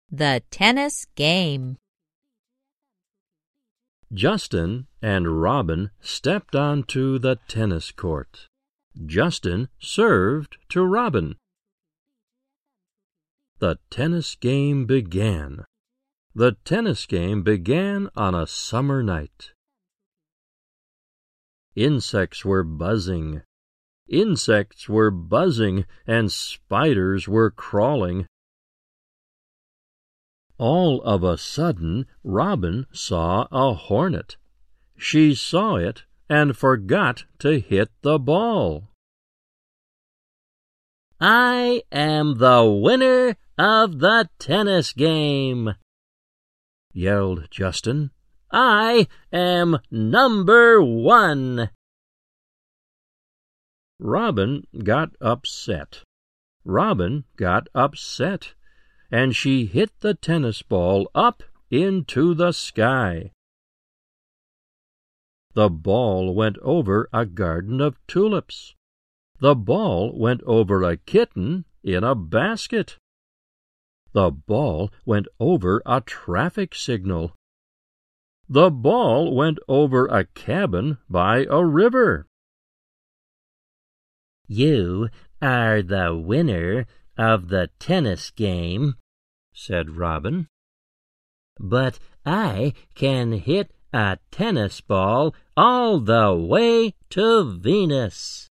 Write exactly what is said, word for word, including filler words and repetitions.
The tennis game. Justin and Robin stepped onto the tennis court. Justin served to Robin. The tennis game began. The tennis game began on a summer night. Insects were buzzing. Insects were buzzing, and spiders were crawling. All of a sudden, Robin saw a hornet. She saw it and forgot to hit the ball. "I am the winner of the tennis game," yelled Justin. "I am number one." Robin got upset. Robin got upset, and she hit the tennis ball up into the sky. The ball went over a garden of tulips. The ball went over a kitten in a basket. The ball went over a traffic signal. The ball went over a cabin by a river. "You are the winner of the tennis game," said Robin. "But I can hit a tennis ball all the way to Venus."